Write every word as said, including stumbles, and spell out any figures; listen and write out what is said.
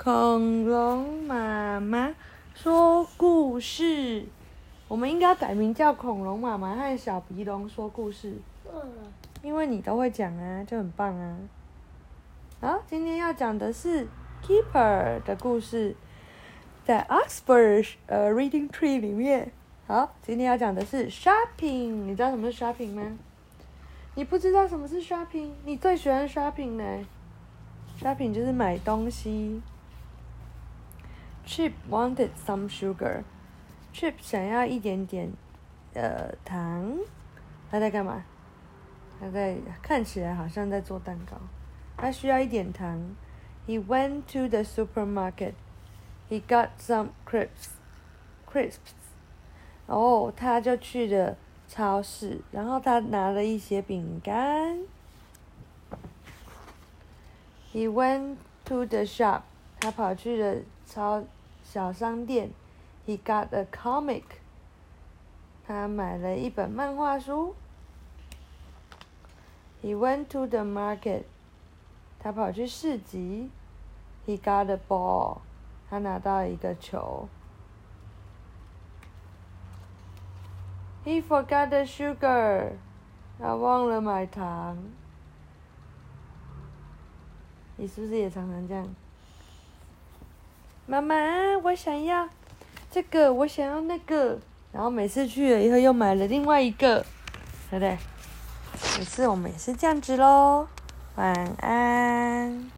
恐龙妈妈说故事，我们应该改名叫恐龙妈妈和小鼻龙说故事。 嗯， 因为你都会讲啊，就很棒啊。好，今天要讲的是 Keeper 的故事，在 Oxford 呃 Reading Tree 里面。好，今天要讲的是 Shopping， 你知道什么是 Shopping 吗？你不知道什么是 Shopping？ 你最喜欢 Shopping 呢 ？Shopping 就是买东西。Chip wanted some sugar. Chip 想要一点点呃糖。他在干嘛？他在看起来好像在做蛋糕。他需要一点糖。He went to the supermarket. He got some crisps. Crisps. 然后他就去了超市，然后他拿了一些饼干。He went to the shop. 他跑去了超小商店。He got a comic. 他买了一本漫画书。He went to the market. 他跑去市集。He got a ball. 他拿到一个球。He forgot the sugar. 他忘了买糖。你是不是也常常这样？妈妈，我想要这个，我想要那个，然后每次去了以后又买了另外一个，对不对？每次我们也是这样子咯。晚安。